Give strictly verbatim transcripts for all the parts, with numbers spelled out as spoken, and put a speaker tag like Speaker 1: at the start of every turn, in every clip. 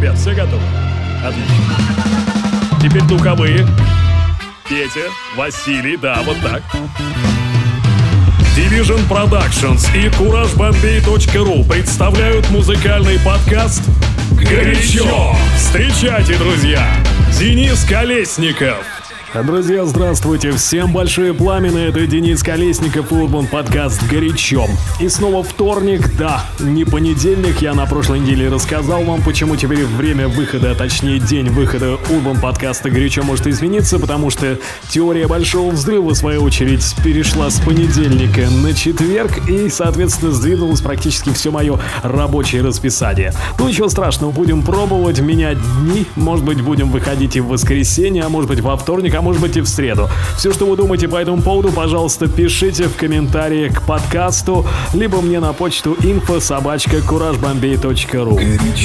Speaker 1: Ребят, все готовы? Отлично. Теперь духовые. Петя, Василий, да, вот так. Division Productions и кураж бомбей точка ру представляют музыкальный подкаст «Горячо». Встречайте, друзья, Денис Колесников. Друзья, здравствуйте! Всем большое пламя, это Денис Колесников и Урбан подкаст «Горячо». И снова вторник, да, не понедельник. Я на прошлой неделе рассказал вам, почему теперь время выхода, а точнее день выхода Урбан подкаста «Горячо» может измениться, потому что теория Большого Взрыва, в свою очередь, перешла с понедельника на четверг и, соответственно, сдвинулось практически все мое рабочее расписание. Ну, ничего страшного, будем пробовать менять дни. Может быть, будем выходить и в воскресенье, а может быть, во вторник, а может быть и в среду. Все, что вы думаете по этому поводу, пожалуйста, пишите в комментарии к подкасту, либо мне на почту инфо собака кураж бомбей точка ру.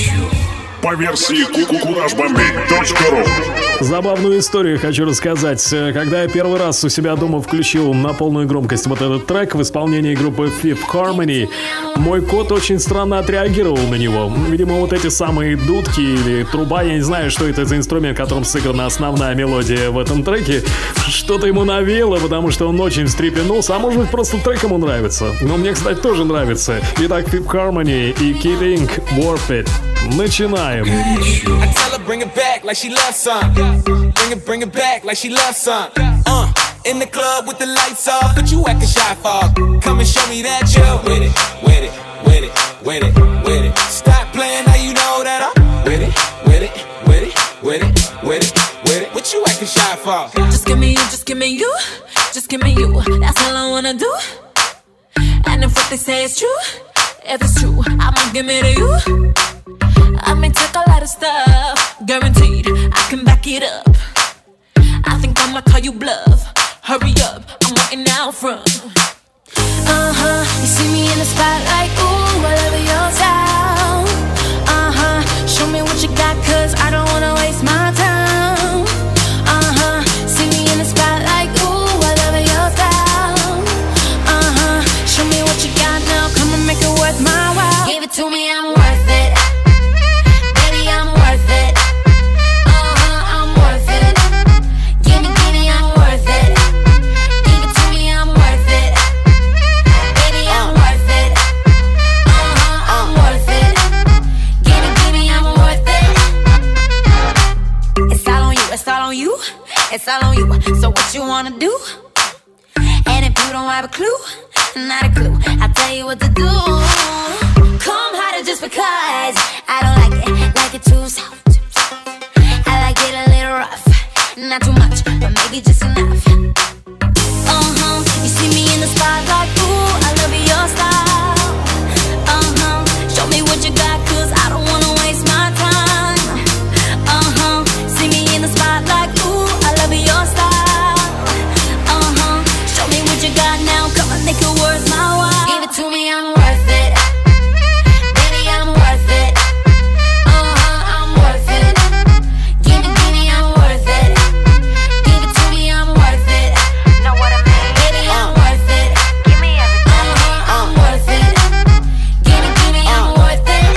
Speaker 2: По версии кураж бомбей точка ру.
Speaker 1: Забавную историю хочу рассказать. Когда я первый раз у себя дома включил на полную громкость вот этот трек в исполнении группы Fifth Harmony, мой кот очень странно отреагировал на него. Видимо, вот эти самые дудки или труба, я не знаю, что это за инструмент, которым сыграна основная мелодия в этом треке, что-то ему навеяло, потому что он очень встрепенулся, а может быть просто трек ему нравится. Но мне, кстати, тоже нравится. Итак, Fifth Harmony и Kid Ink, Warp It. Начинаем.
Speaker 3: Bring it back like she loves some. Bring it, bring it back like she loves some. Uh, in the club with the lights off, but you acting shy for. Come and show me that you with it, with it, with it, with it, with it. Stop playing, now you know that I'm with it, with it, with it, with it, with it, with it. What you acting shy for?
Speaker 4: Just give me you, just give me you, just give me you. That's all I wanna do. And if what they say is true, if it's true, I'ma give it to you. I may take a lot of stuff, guaranteed I can back it up. I think I'ma call you bluff. Hurry up, I'm waiting out front. Uh-huh, you see me in the spotlight, ooh, I love your style. Uh-huh, show me what you got, cause I don't wanna waste my time. Uh-huh, see me in the spotlight, ooh, I love your style. Uh-huh, show me what you got now, come and make it worth my while. Give it to me, I'm worth it. It's all on you, so what you wanna do? And if you don't have a clue, not a clue, I'll tell you what to do. Come harder just because I don't like it, like it too soft. I like it a little rough, not too much, but maybe just enough. Uh-huh, you see me in the spotlight, ooh, I love your style. Uh-huh, show me what you got, cause I don't wanna waste my time. Uh-huh, see me in the spotlight, ooh, your style, uh-huh. Show me what you got now, come and make it worth my while. Give it to me, I'm worth it. Baby, I'm worth it. Uh-huh, I'm worth it. Give it, give me, I'm worth it. Give it to me, I'm worth it. Know what I mean? Baby, I'm uh. worth it. Give me everything. Uh-huh, I'm uh. worth it. Give it, give me, uh. I'm worth it.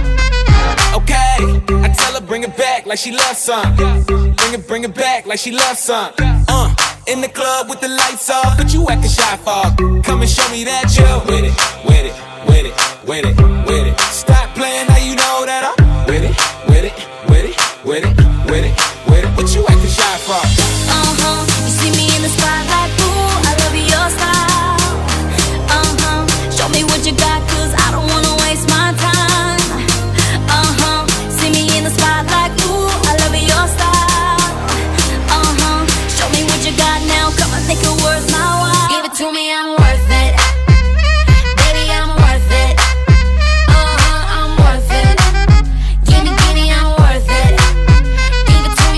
Speaker 3: Okay, I tell her bring it back like she loves some. Bring it, bring it back like she loves some. Uh, in the club with the lights off, but you acting shy for. Come and show me that you with it, with it, with it, with it, with it. Stop playing, now you know that I'm with it, with it, with it, with it, with it, with it. What you acting shy for?
Speaker 4: Uh-huh, you see me in the spotlight, ooh, I love your style. Uh-huh, show me what you got, cause I don't wanna waste my time. Uh-huh, see me in the spotlight, ooh, I love your style. Uh-huh, show me what you got now, come and make it worth my while. Give it to me, I'm worth it. Baby, I'm worth it. Uh-huh, I'm worth it. Give me, give me, I'm worth it. Give it to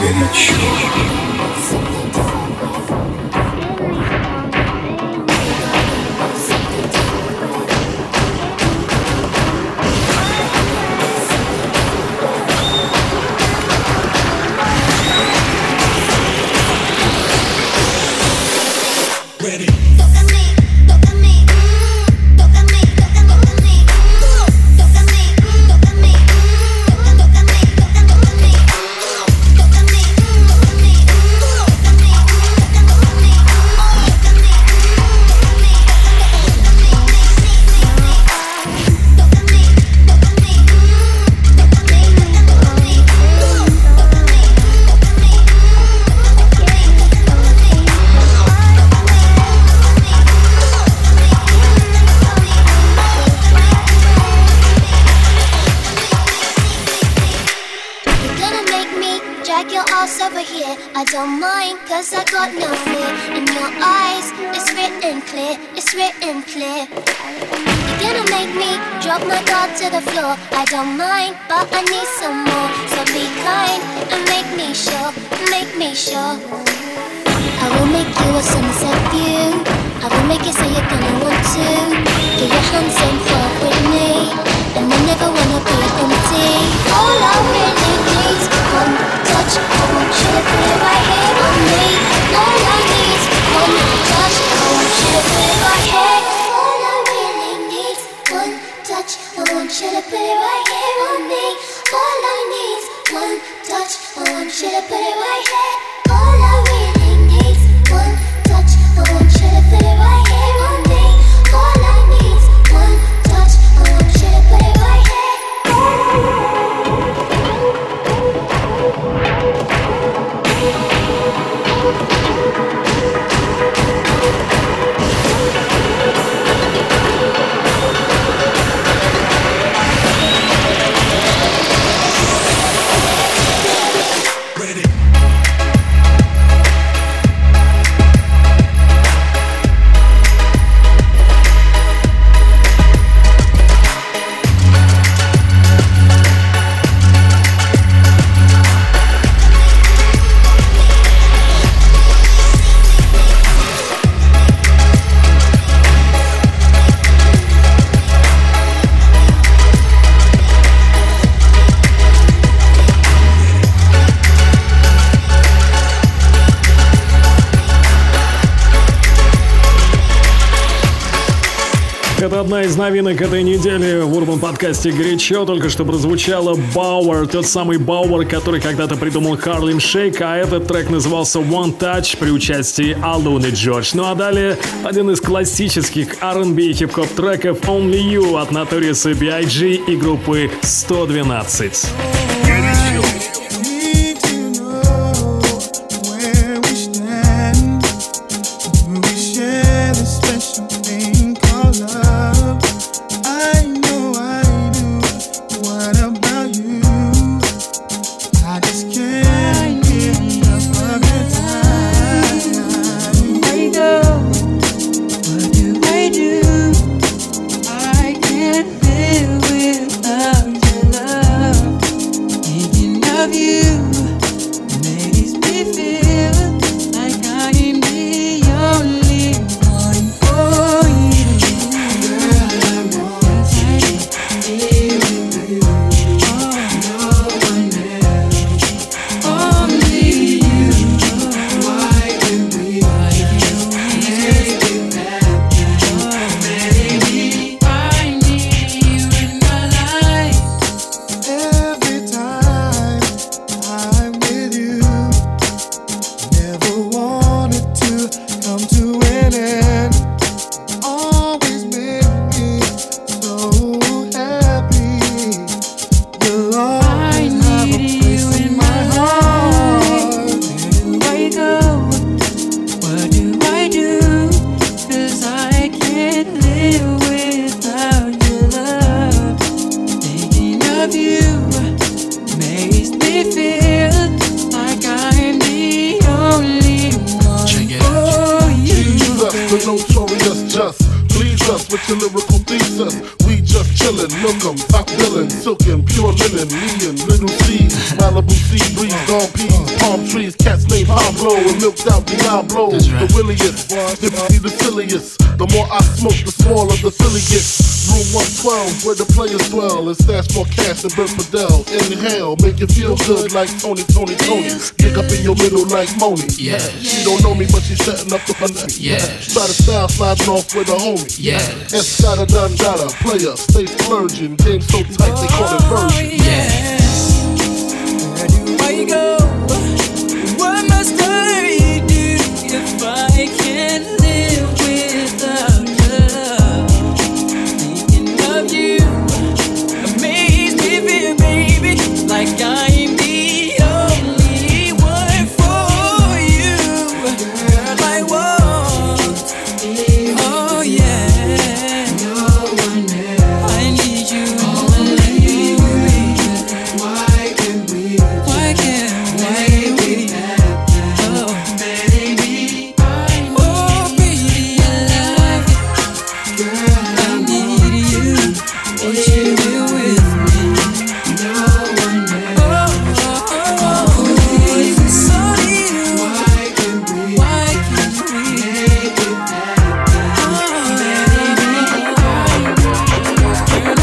Speaker 1: Горячо.
Speaker 5: I don't mind, but I need some more. So be kind and make me sure, make me sure. I will make you a sunset view. I will make it so you're gonna want to get your hands in fuck with me, and I never wanna be empty. All I really need is one touch. I want you to put it right here on me. All I need is one touch. I want you to put it right here. All I really need is one touch. I want you to put it right here on me. All I need is one touch. I want you to put it right here. All I really need is one touch. I want you to put it right here on me. All I need is one touch. I want you to put it right here.
Speaker 1: Это одна из новинок этой недели в Urban подкасте «Горячо». Только что прозвучала Бауэр, тот самый Бауэр, который когда-то придумал Harlem Shake, а этот трек назывался One Touch при участии Alun и George. Ну а далее один из классических ар энд би и хип-хоп треков Only You от Notorious би ай джи и группы сто двенадцать.
Speaker 6: With your lyrical thesis, we just chillin', look 'em, top villain, silk and pure pure linen, me and little C's, Malibu sea breeze, dawn peas, palm trees, cats named Pablo, and milked out Diablo, right. The williest, if you see the silliest, the more I smoke, the smaller the silly gets. Room one twelve, where the players dwell, and stash more cash than Bert Fidel. Inhale, make you feel good like Tony, Tony, Tony. Dig up in your middle like Moni. Yeah. She don't know me, but she's setting up the fun. Yeah. Try to style sliding off with a homie. Yeah. Escada Dandada, player, stay splurging. Game so tight they call it version.
Speaker 3: Yeah. Where do I go? What must I do if I can't live without love? Thinking of you amaze me, baby, like I'm the only one for you. Girl, I want, oh yeah, no one else. I need you, only you, baby. Why can't we? Why can't why we? Oh, baby, oh baby, I love you. Girl, I need you. Want you here with me. No one else. Oh, oh, oh, oh, so you. Why can't we? Why can't we make it happen? Oh, baby, girl, I love you. Girl,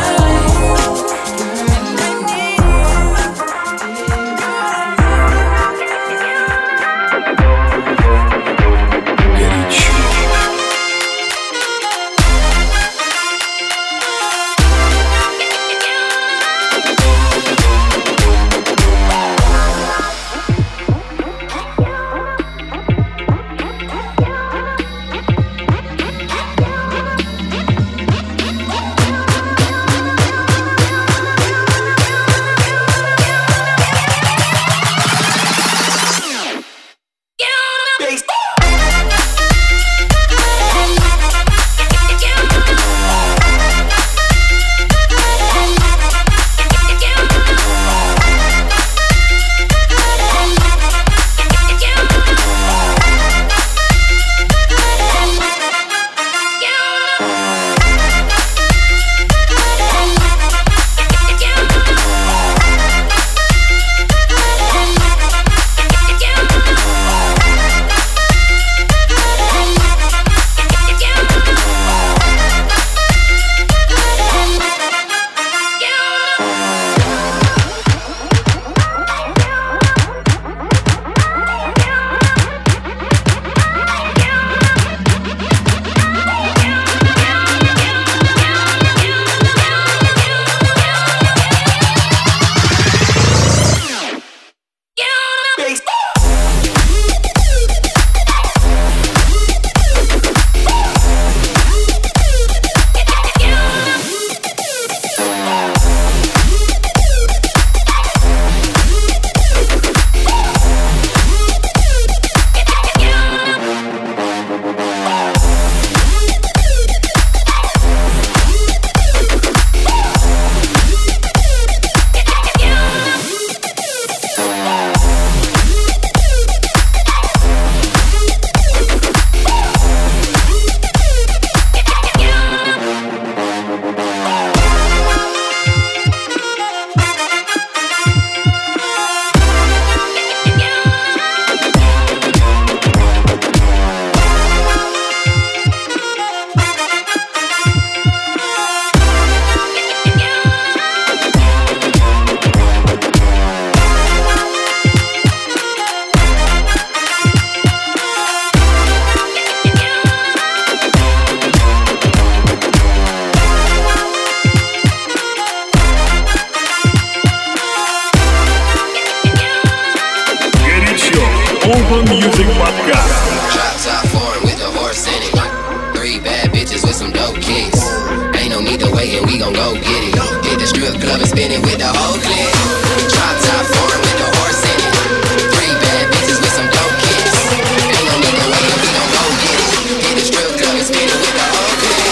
Speaker 1: Open Music Podcast.
Speaker 7: Drop top foreign with a horse in it. Three bad bitches with some dope kicks. Ain't no need to wait and we gon' go get it. Hit the strip club and spin it with the whole clique. Drop top foreign with a horse in it. Three bad bitches with some dope kicks. Ain't no need to wait and we gon' go get it. Hit the strip club and spin it with the whole clique.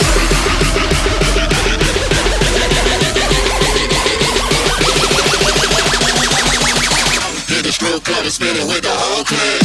Speaker 7: Hit the strip club and spin it with the whole clique.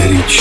Speaker 1: Горячо.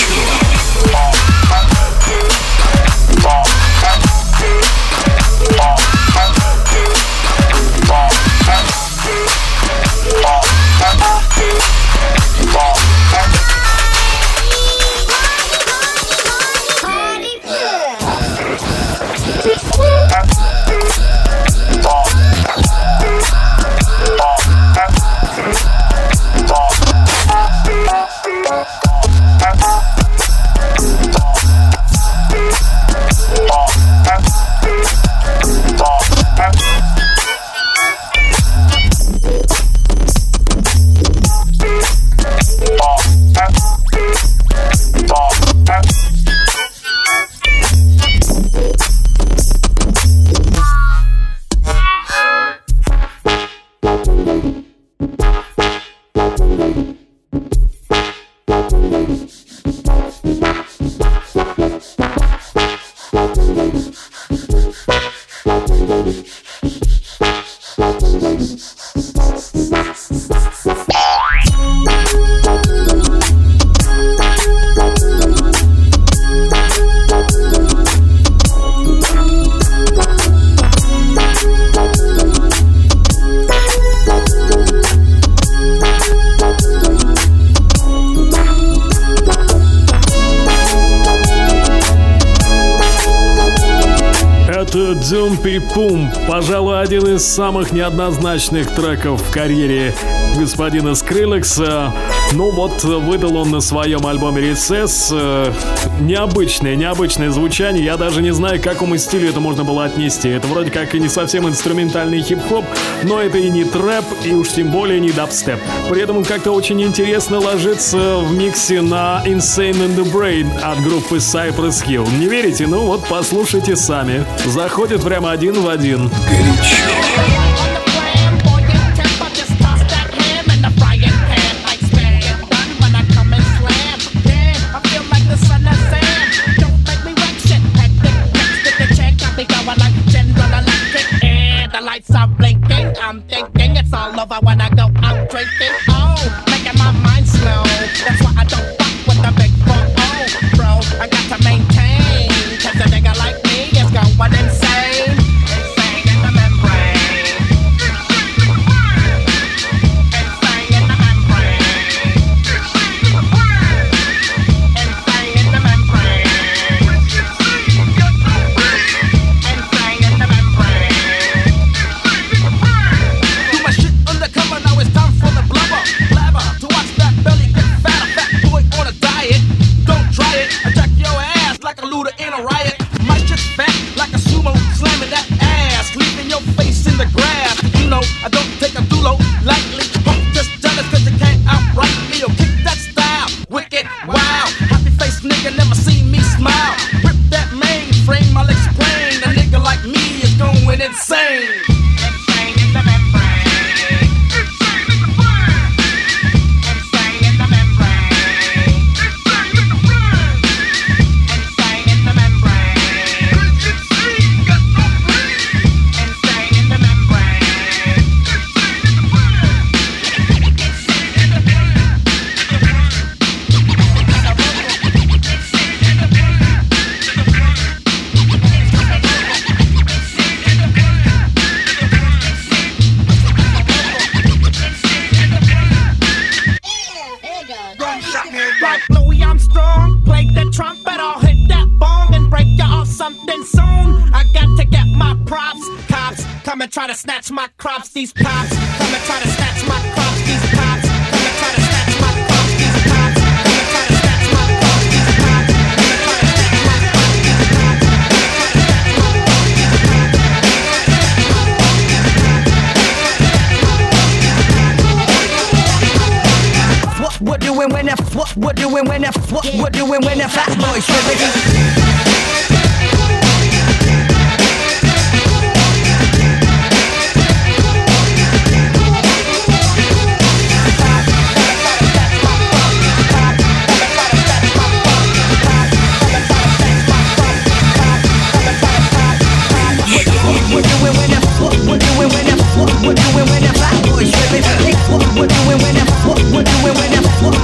Speaker 1: Пум, пожалуй, один из самых неоднозначных треков в карьере господина Скриллекса. Ну вот, выдал он на своем альбоме Recess э, необычное, необычное звучание. Я даже не знаю, к какому стилю это можно было отнести. Это вроде как и не совсем инструментальный хип-хоп, но это и не трэп, и уж тем более не дабстеп. При этом он как-то очень интересно ложится в миксе на Insane in the Brain от группы Cypress Hill. Не верите? Ну вот, послушайте сами. Заходит прямо один в один. Горячо.
Speaker 8: I'm thinking it's all over when I go out drinking. Oh, making my mind slow. That's why I don't fuck with the big four oh, bro. I got to maintain, cause a nigga like me is going insane. Insane in the membrane. Insane in the membrane. Insane in the membrane. Insane in the membrane. I don't take a dulo lightly. Punk just jealous cause you can't outright me. Yo, kick that style, wicked, wow. Happy face nigga never seen me smile. Rip that mainframe, I'll explain. A nigga like me is going insane. Insane in the membrane. Insane in the brain. Insane in the membrane. Insane in the brain. Insane in the membrane. Insane got no brain. Insane in the membrane. Like Louis Armstrong, play the trumpet, I'll hit that bong and break you off something soon. I got to get my props. Cops come and try to snatch my crops. These cops come and try to snatch my crops. These cops come and try to snatch my crops. These cops come and try to snatch my crops. These cops come and try to snatch my crops. These cops. What we're doing when the what we're doing when the what we're doing when the fat boys tripping. What we're doing when the what we're doing when the what we're doing when the what we're doing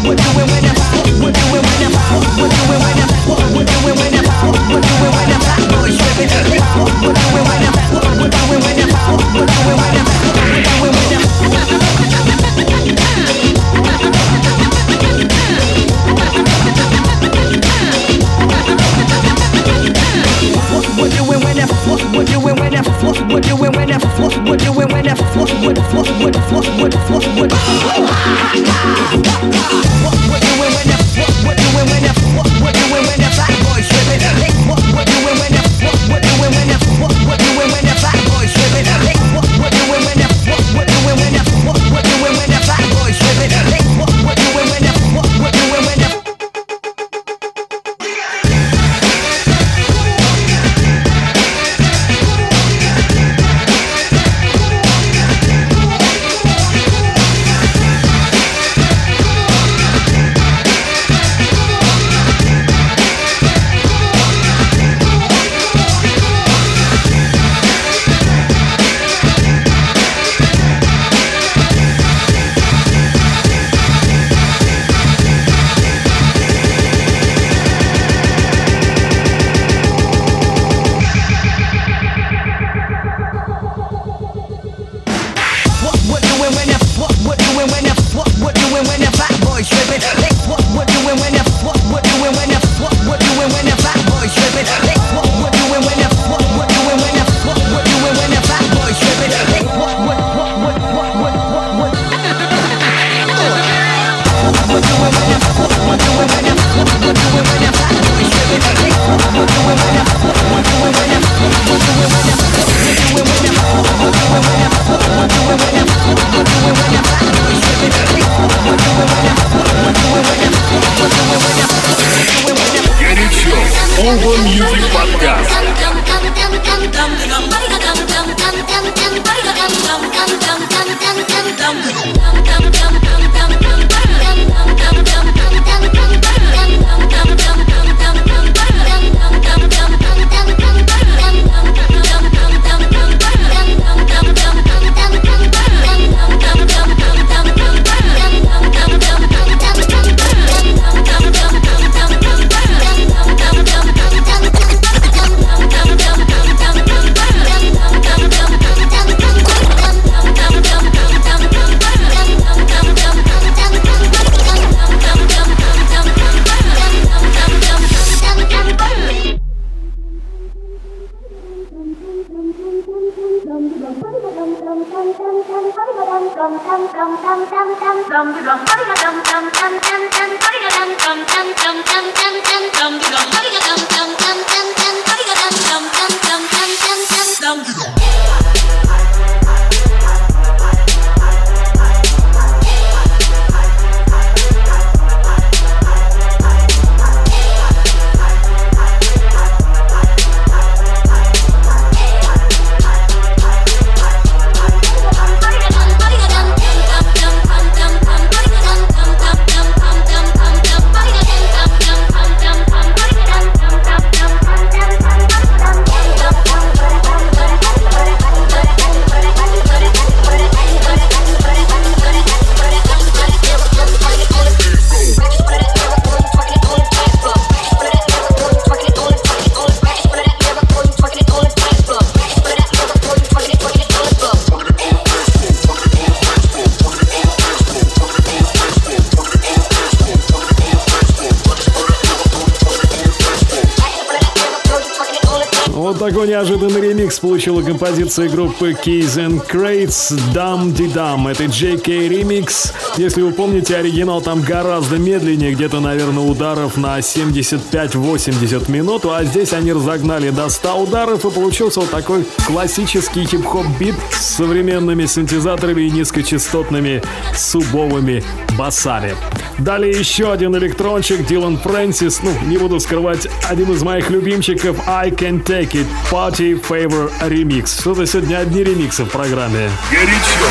Speaker 1: Такой неожиданный ремикс получила композиция группы Keys and Crates Dum Di Dum. Это джей кей ремикс. Если вы помните, оригинал там гораздо медленнее, где-то, наверное, ударов на семьдесят пять восемьдесят минут, а здесь они разогнали до ста ударов, и получился вот такой классический хип-хоп бит с современными синтезаторами и низкочастотными субовыми басами. Далее еще один электрончик, Дилан Фрэнсис, ну, не буду скрывать, один из моих любимчиков, I Can Take It, Party Favor Remix. Что-то сегодня одни ремиксы в программе.
Speaker 2: Горячо.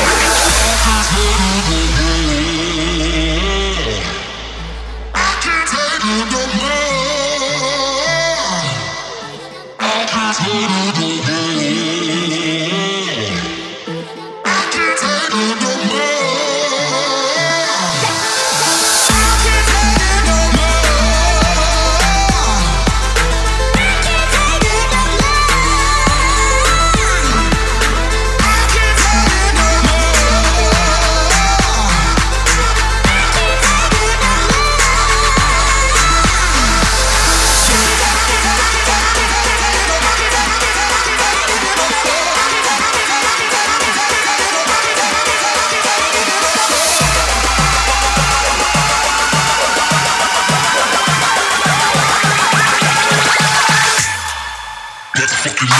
Speaker 9: I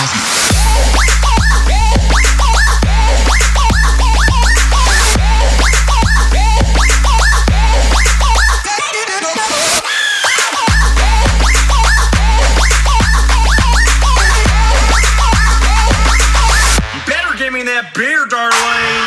Speaker 9: Beer, darling.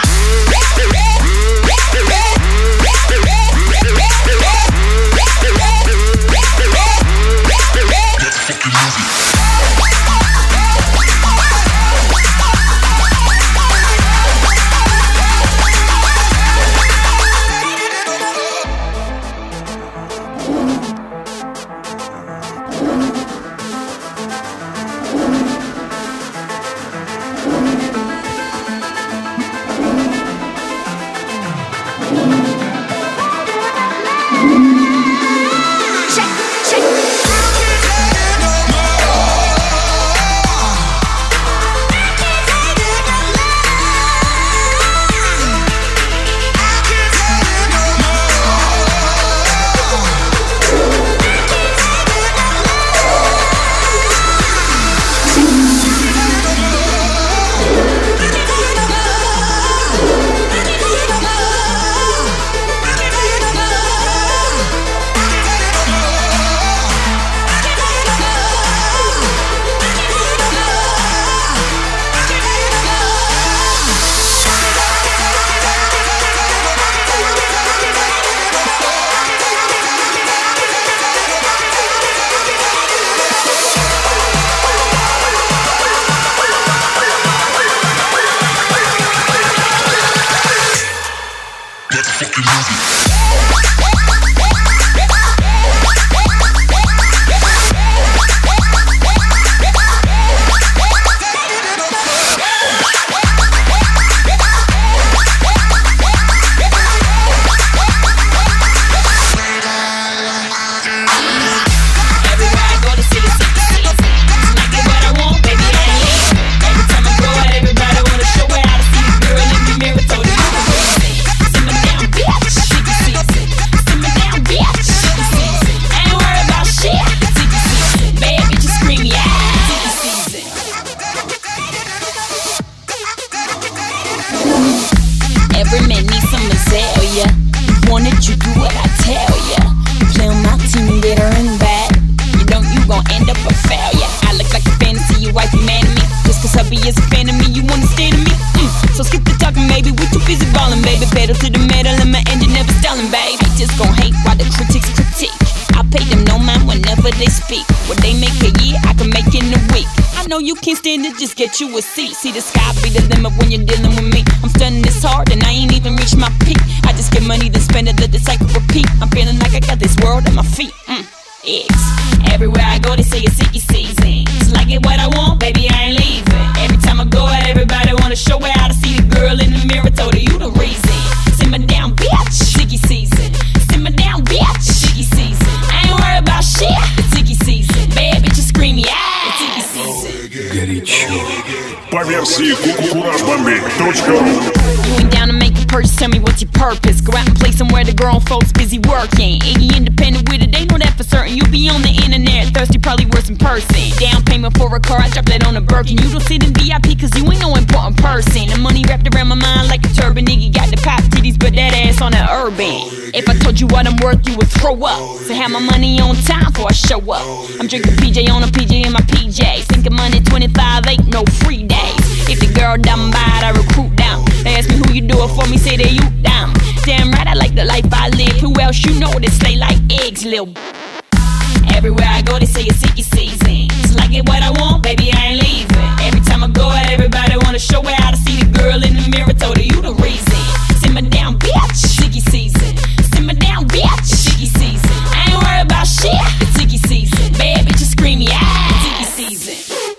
Speaker 10: Just get you a seat. See the sky be the limit when you're dealing with me. I'm stunning this hard and I ain't even reached my peak. I just get money to spend it, let the cycle repeat. I'm feeling like I got this world at my feet. Mm. Eggs. Everywhere I go, they say it's Sicky season. It's like it what I want, baby, I ain't leaving. Every time I go out, everybody wanna show where I see the girl in the mirror, told her you the reason. Simmer down, bitch. Sicky season. Simmer down, bitch. Sicky season. I ain't worried about shit. It's Sicky season. Baby, just scream yeah. It's Sicky season.
Speaker 1: Горячо.
Speaker 2: По версии кураж бомбит точка ру.
Speaker 10: You ain't down to make a purchase, tell me what's your purpose. Go out and play somewhere the grown folks busy working. Iggy independent with it, they know that for certain. You be on the internet, thirsty, probably worse in person. Down payment for a car, I drop that on a Birkin. You don't sit in V I P cause you ain't no important person. The money wrapped around my mind like a turban. Iggy got the pop titties, but that ass on that urban. If I told you what I'm worth, you would throw up. So have my money on time before I show up. I'm drinking P J on a P J in my P Js. Thinking money twenty-five, ain't no free days. If the girl down bad, I recruit down. They ask me who you do it for me, say that you down. Damn right, I like the life I live. Who else you know that slay like eggs, lil'? Everywhere I go, they say it's Sicky season. It's like it what I want, baby, I ain't leaving. Every time I go out, everybody wanna show where I see the girl in the mirror, told her you the reason. Simmer down, bitch. Sicky season. Simmer down, bitch. Sicky season. I ain't worried about shit. It's Sicky season. Baby, just scream yeah. It's Sicky season.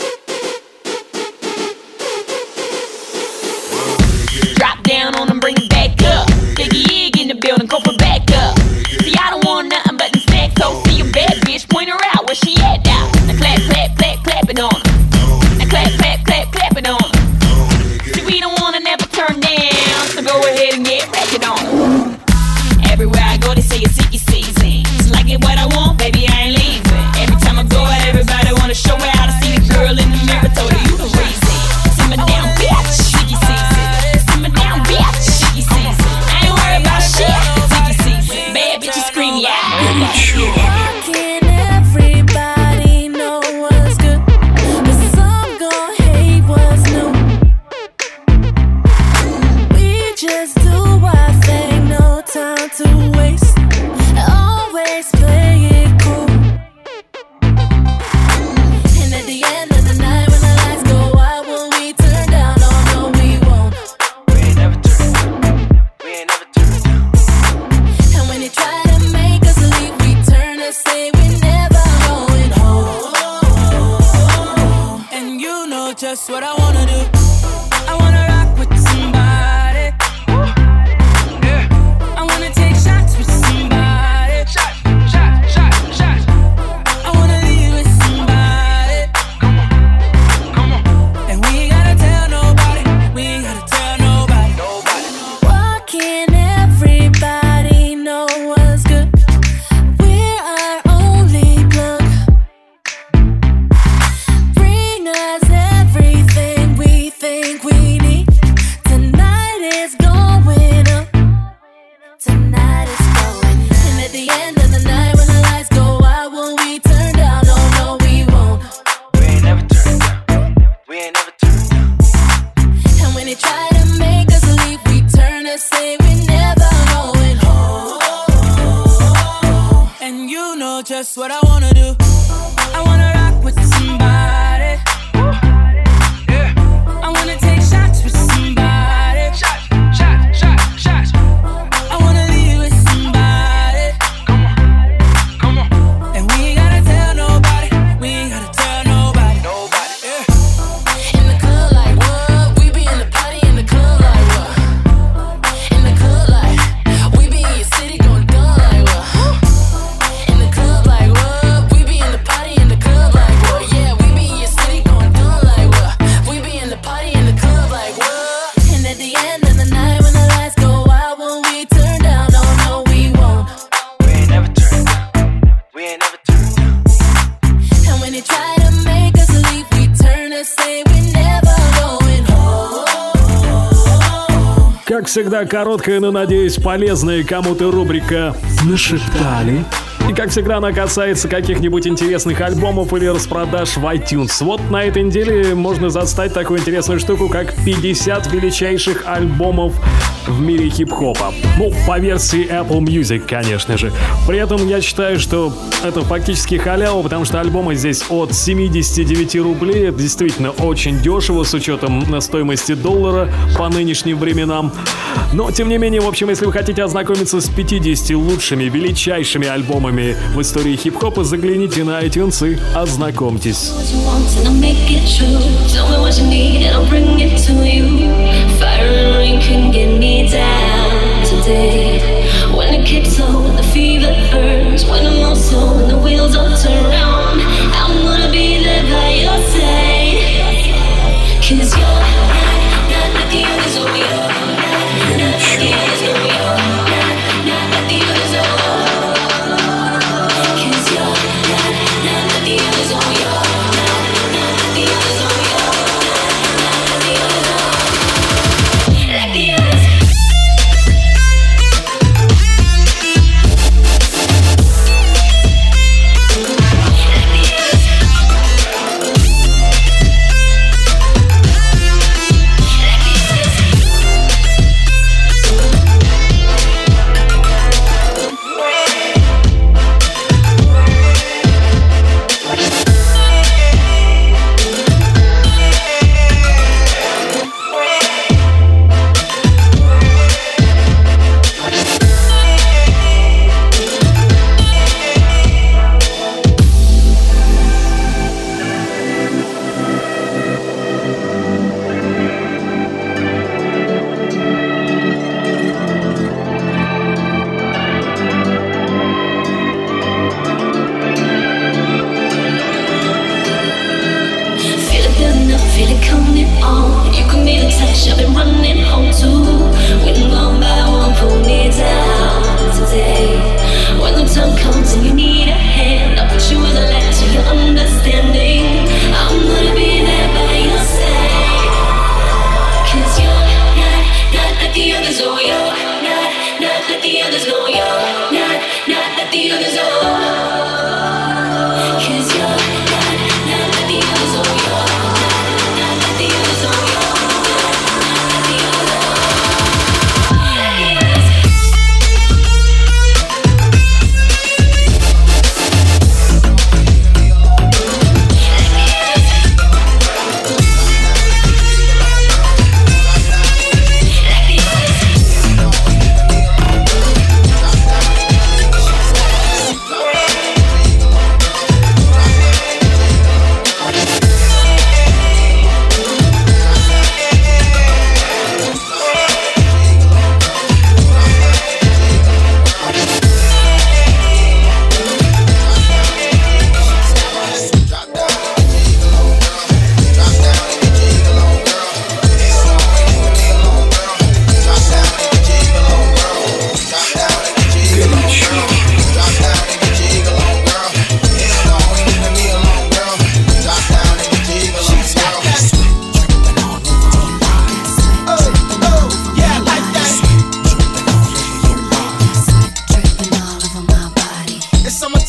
Speaker 10: Drop down on them, bring it back up. Biggie Ig in the building, go for back up. See, I don't want nothing but them stacks, so see a bad bitch, point her out, where she at now? Now clap, clap, clap, clap it on her. Now clap, clap, clap, clap it on her. See, we don't wanna never turn down, so go ahead and get ratchet on her. Everywhere I go, they say it's Sicky season.
Speaker 3: Горячо.
Speaker 11: Just what I wanna do. I wanna rock with somebody. Yeah. I wanna take shots with somebody. Shot, shot, shot, shot. I wanna leave with somebody. Come on, come on. And we ain't gotta tell nobody. We ain't gotta tell nobody. Nobody. Why can't everybody know what's good? We're our only plug. Bring us everything we think we need. Tonight is going up. Tonight is going up. And at the end of the night when the lights go out, will we turn down? Oh no, we won't. We ain't never turned down. We ain't never turned down. And when they try to make us leave, we turn and say we never going home. And you know just what I wanna do. I wanna rock with somebody. I wanna take shots with somebody. Shot, shot, shot, shot. I wanna leave with somebody. Come on, come on. And we ain't gotta tell nobody. We ain't gotta tell nobody. Nobody. Yeah. In the club like what? We be in the party in the club like what? In the club like we be in your city going dumb like what? In the club like what? We be in the party in the club like what? Yeah, we be in your city going dumb like what? We be in the party in the club like what? And at the end of the night when the lights go out, will we turn down? Oh no, we won't. We ain't never turned down. We ain't never turned down. And when they try to make us leave, we turn and say we never going home.
Speaker 1: Как всегда, короткая, но, надеюсь, полезная кому-то рубрика «Нашептали». И, как всегда, она касается каких-нибудь интересных альбомов или распродаж в iTunes. Вот на этой неделе можно застать такую интересную штуку, как пятьдесят величайших альбомов в мире хип-хопа. Ну, по версии Apple Music, конечно же. При этом я считаю, что это фактически халява, потому что альбомы здесь от семьдесят девять рублей. Это действительно очень дешево с учетом стоимости доллара по нынешним временам. Но, тем не менее, в общем, если вы хотите ознакомиться с пятьюдесятью лучшими, величайшими альбомами в истории хип-хопа, загляните на iTunes и ознакомьтесь.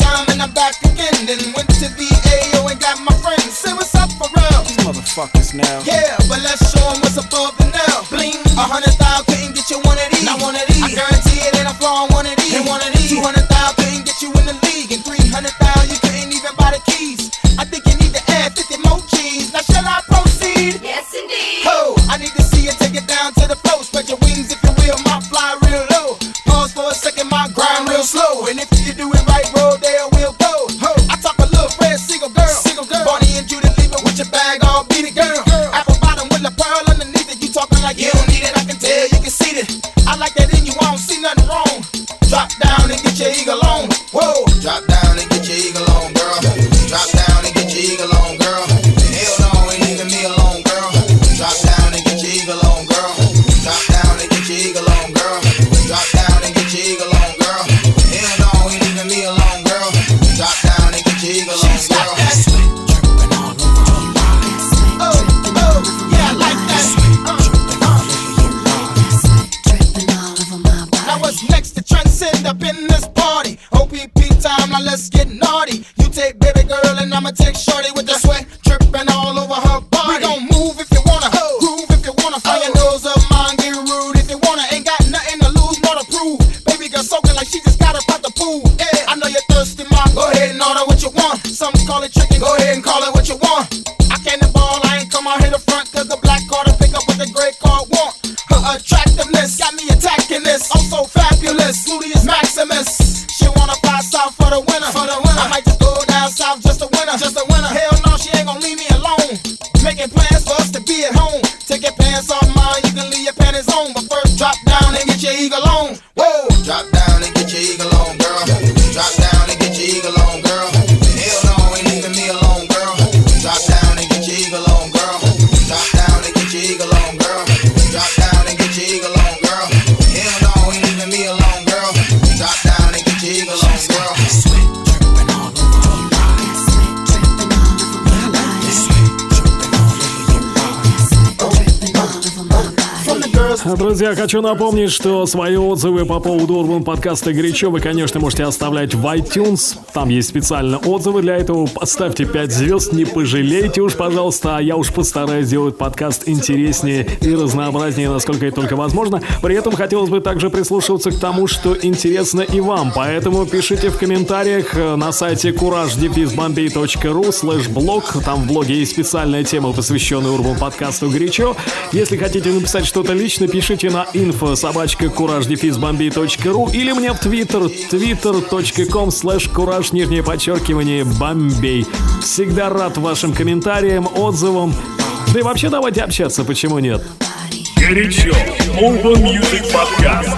Speaker 8: time and I'm back again. Then went to the A O and got my friends. Say what's up for real.
Speaker 12: These motherfuckers now.
Speaker 8: Yeah, but let's show them what's above the now. Bling, a hundred thousand couldn't get you one of these. Not one of these. I guarantee it ain't a flaw on one of these. Ain't one of these. Two hundred thousand couldn't get you in the league, and three hundred thousand you couldn't even buy the keys. I think you need to add fifty more G's. Now shall I proceed?
Speaker 4: Yes, indeed.
Speaker 8: Ho, I need to see you take it down to the floor. Spread your wings if you will, my fly real low. Pause for a second, my grind real slow. And if you do it right, roll there we'll go. Ho, I talk a little Fred Siegel girl. Siegel girl. Barney and Judy leave it with your bag all beat it, girl. Apple bottom with a pearl underneath it. You talking like you don't need it, I can tell you can see it. I like that in you, I don't see nothing wrong. Drop down and get your eagle on. Whoa.
Speaker 13: Drop down and get your eagle on, girl. Drop down and get your eagle on, girl. Hell no, ain't leaving me alone, girl. Drop down and get your eagle on, girl. Drop down and get your eagle on, girl. Drop down and get your eagle on, girl. Hell no, ain't leaving me alone, girl. Drop down and get your eagle on, girl.
Speaker 8: Oh, oh, yeah, I like that. Now what's next to transcend up in this party? O P P time, now let's get naughty. You take baby girl and I'ma take shorty with the sweat dripping all over her body. We gon' move if you wanna, groove if you wanna. Fire your nose up, mine get rude if you wanna. Ain't got nothing to lose, more to prove. Baby girl soaking like she just got up out the pool. Yeah, I know you're thirsty, mom. Go ahead and order what you want. Some call it tricking, go ahead and call it what you want. I can't the ball, I ain't come out here the front, cause the black card to pick up what the gray card want. Her attractiveness got me attacking this. I'm so fabulous, Ludius Maximus. She wanna fly south for the winter, for the winter. I might just go down south just to winter, just to winter. Hell no, she ain't gon' leave me alone. Making plans for us to be at home. Take your pants off, mine, you can leave your panties on. But first drop down and get your eagle on. Whoa!
Speaker 13: Drop down and get your eagle on, girl. Drop down and get your eagle on, girl. Hell no, ain't leaving me alone, girl. Drop down and get your eagle on, girl. Drop down and get your eagle on, girl. Drop down and get your eagle on, girl. Hell no, ain't leaving me alone, girl. Drop down and get your eagle on, girl.
Speaker 1: Друзья, хочу напомнить, что свои отзывы по поводу Урбан подкаста «Горячо» вы, конечно, можете оставлять в iTunes. Там есть специально отзывы для этого. Поставьте пять звезд, не пожалейте уж, пожалуйста. А я уж постараюсь сделать подкаст интереснее и разнообразнее, насколько это только возможно. При этом хотелось бы также прислушиваться к тому, что интересно и вам. Поэтому пишите в комментариях на сайте кураж дефис бомбей точка ру слэш блог. Там в блоге есть специальная тема, посвященная Урбан подкасту «Горячо». Если хотите написать что-то лично, пишите на инфо собачка кураж дефис бомбей точка ру или мне в твиттер твиттер точка ком слэш кураж нижнее подчеркивание бомбей. Всегда рад вашим комментариям, отзывам. Да и вообще давайте общаться, почему нет?
Speaker 2: Горячо. Urban Music Podcast.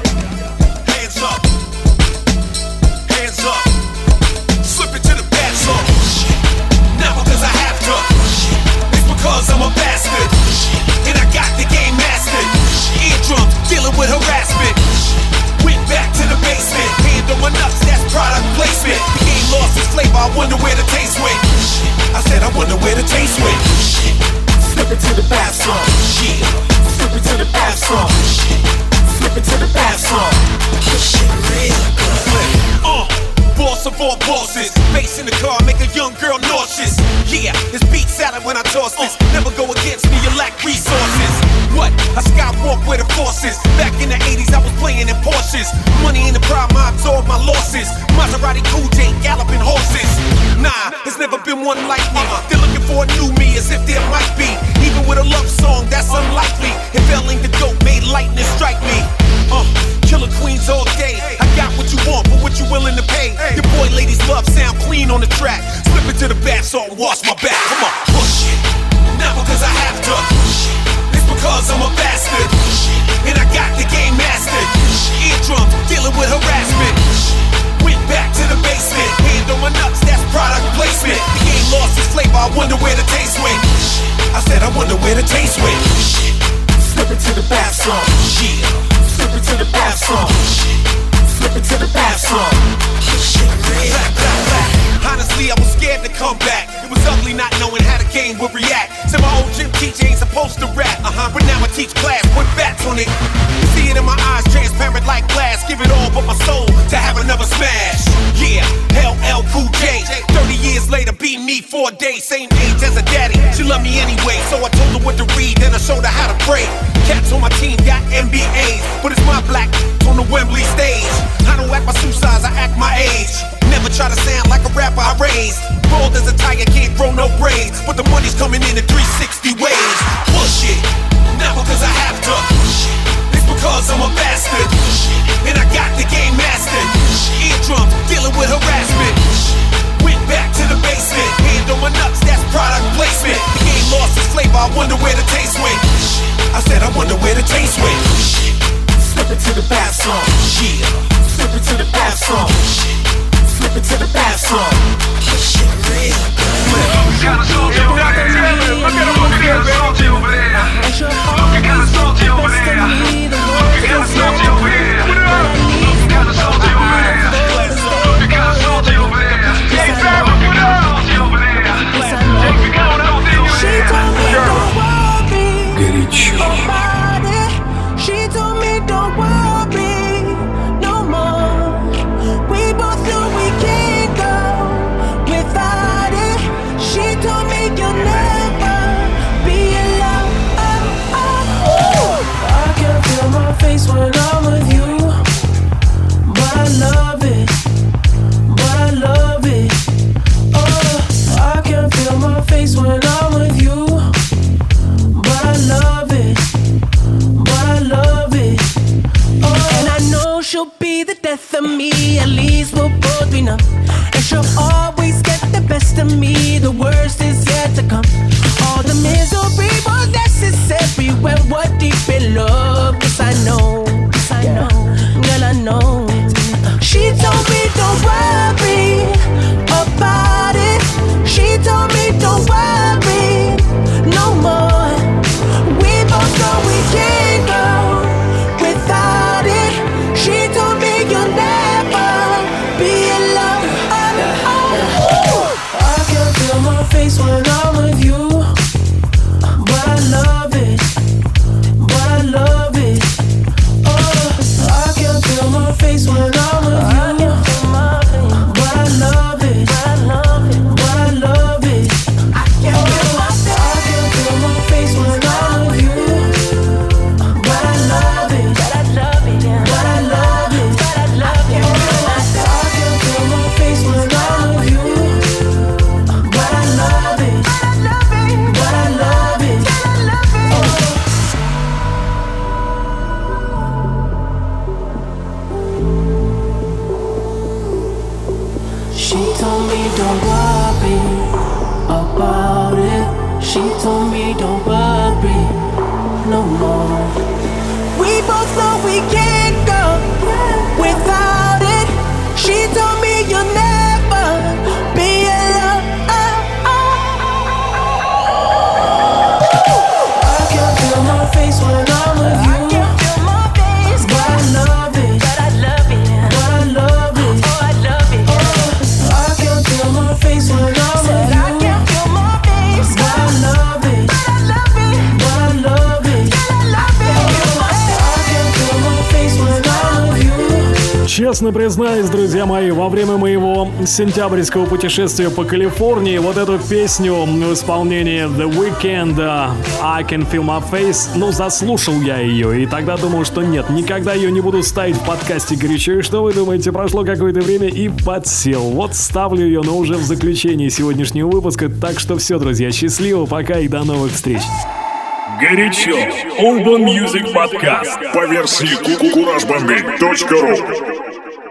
Speaker 3: I'm a bastard, and I got the game mastered. Eardrums, dealing with harassment. Went back to the basement, hand on my nuts, that's product placement. The game lost its flavor, I wonder where the taste went. I said I wonder where the taste went. Slip it to the bathroom, yeah. Slip it to the bathroom, slip it to the bathroom. This shit real good. Uh. Boss of all bosses, bass in the car make a young girl nauseous. Yeah, it's beat salad when I toss this. Never go against me, you lack resources. What? I skywalk where the force is. Back in the eighties, I was playing in Porsches. Money ain't the problem, I absorb my losses. Maserati Cool J, galloping horses. Nah, there's never been one like me. They're looking for a new me, as if there might be. Even with a love song, that's unlikely. If L-Ing the dope made lightning strike me. Uh, killer queens all day. I got what you want, but what you willing to pay? Your boy ladies love sound clean on the track. Slip it to the bath salt and wash my back. Come on, push it. Not because I have to. It's because I'm a bastard. And I got the game mastered. Eardrums, dealing with harassment. Went back to the basement. Hand on my nuts, that's product placement. The game lost its flavor, I wonder where the taste went. I said I wonder where the taste went. Slip it to the bathroom, yeah. Slip it to the bathroom, slip it to the bathroom. Honestly, I was scared to come back. It was ugly not knowing how the game would react. Said my old gym teacher ain't supposed to rap, uh-huh. But now I teach class, put bats on it. You see it in my eyes, transparent like glass. Give it all but my soul to have another smash. Yeah, hell
Speaker 12: later, beat me four days, same age as a daddy. She loved me anyway, so I told her what to read, then I showed her how to pray. Cats on my team got M B As, but it's my black on the Wembley stage. I don't act my shoe size, I act my age. Never try to sound like a rapper I raised. Bald as a tiger, can't grow no braids, but the money's coming in in three sixty ways. Bullshit, not because I have to. It's because I'm a bastard, and I got the game mastered. Eardrums, dealing with harassment. Went back to the basement, hand on my nuts, that's product placement. The game lost its flavor, I wonder where the taste went. I said I wonder where the taste went. Slip it to the bath song, yeah. Slip it to the bath song, slip it to the bath song. Shit real good. Kinda salty over there. Look at him looking kinda salty over there. Looking kinda salty over there. Looking kinda salty over here. Looking kinda salty over there. Looking kinda salty over there. Hey, fam, looking kinda salty over there. Hey, we got salty over there. She told me don't worry.
Speaker 1: Горячо.
Speaker 11: She told me don't worry no more. We both know we can't go without it. She told me you'll never be alone. Oh, oh. I can feel my face when I'm with you, but I love it, but I love it. Oh, I can feel my face when I'm with you, but I love it, but I love it. Oh, and I know she'll be the death of me. At least we'll both be numb. And she'll always get the best of me. The worst is yet to come. All the misery was necessary when we're deep in love. Cause I know, cause I know, girl I know. She told me don't worry about it. She told me don't worry no more. We both know we can't go without it. She told me you'll never be alone. Oh, oh, oh. I can feel my face when I'm with you, but I love it, but I love it. Oh, I can feel my face when I'm with you, but I love it, but I love it. I can feel my face when I'm with you, but I love it, but I love it, but I love it, but I love it. I can feel my face when I'm with you, but I love it, but I love it. She told me don't worry about it. She told me don't worry no more. We both know we can't go without it. She told me you'll never be alone. I can feel my face when I'm with you. But I love it, but I love it, but I love it. Oh, I love it. Oh, I can feel my face when I'm with you. I can feel my face, but I love it, but I love it, but I love it, but I love it. I can feel my face when I'm with you.
Speaker 1: Честно признаюсь, друзья мои, во время моего сентябрьского путешествия по Калифорнии вот эту песню в исполнении The Weeknd I Can Feel My Face, ну, заслушал я ее, и тогда думал, что нет, никогда ее не буду ставить в подкасте горячо. И что вы думаете, прошло какое-то время и подсел. Вот ставлю ее, но уже в заключении сегодняшнего выпуска. Так что все, друзья, счастливо, пока и до новых встреч.
Speaker 2: Горячо. Urban Music Podcast по версии кураж бомбей точка ру.